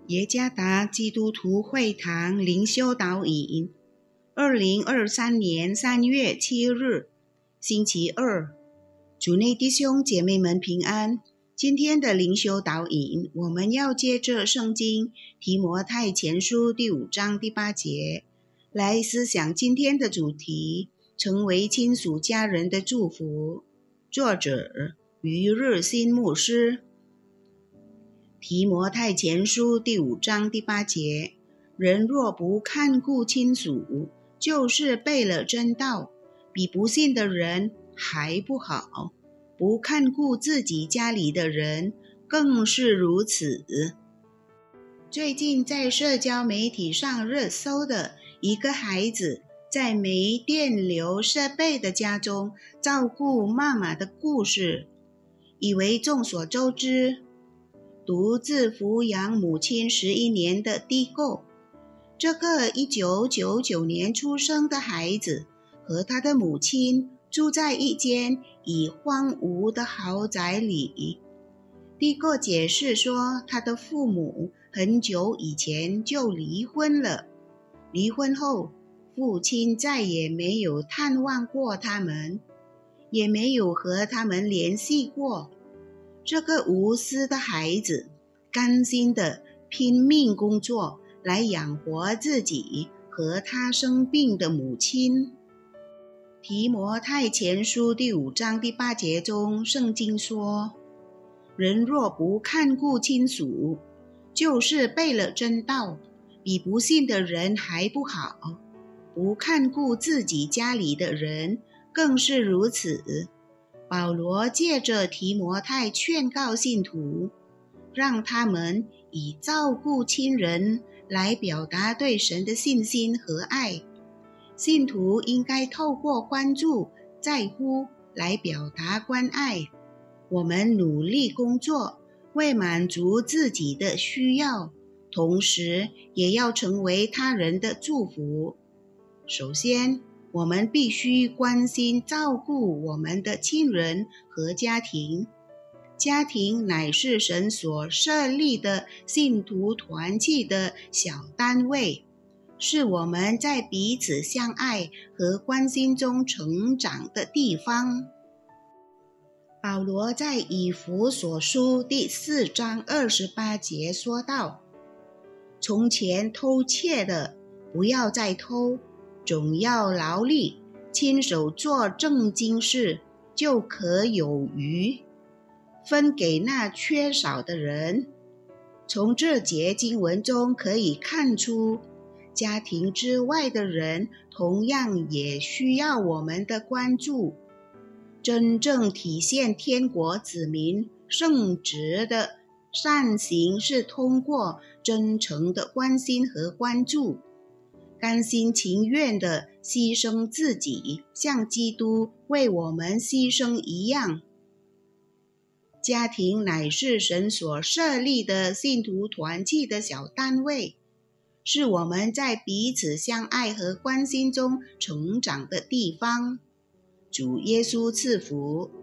耶加达基督徒会堂灵修导引，2023年3月7日，星期二，主内弟兄姐妹们平安。今天的灵修导引，我们要接着圣经提摩太前书第5章第8节，来思想今天的主题：成为亲属家人的祝福。作者余日新牧师。提摩太前书第5章第8节，人若不看顾亲属，就是背了真道，比不信的人还不好；不看顾自己家里的人，更是如此。最近在社交媒体上热搜的一个孩子在没电流设备的家中照顾妈妈的故事，以为众所周知。独自抚养母亲11年的蒂购，这个1999年出生的孩子和他的母亲住在一间已荒芜的豪宅里。蒂购解释说，他的父母很久以前就离婚了，离婚后父亲再也没有探望过他们，也没有和他们联系过。这个无私的孩子甘心地拼命工作来养活自己和他生病的母亲。提摩太前书第5章第8节中，圣经说，人若不看顾亲属，就是背了真道，比不信的人还不好；不看顾自己家里的人，更是如此。保罗借着提摩太劝告信徒，让他们以照顾亲人来表达对神的信心和爱。信徒应该透过关注、在乎来表达关爱。我们努力工作，为满足自己的需要，同时也要成为他人的祝福。首先，我们必须关心照顾我们的亲人和家庭。家庭乃是神所设立的信徒团契的小单位，是我们在彼此相爱和关心中成长的地方。保罗在以弗所书第4章28节说道，从前偷窃的，不要再偷，总要劳力，亲手做正经事，就可有余，分给那缺少的人。从这节经文中可以看出，家庭之外的人同样也需要我们的关注。真正体现天国子民圣职的善行，是通过真诚的关心和关注，甘心情愿地牺牲自己，像基督为我们牺牲一样。家庭乃是神所设立的信徒团契的小单位，是我们在彼此相爱和关心中成长的地方。主耶稣赐福。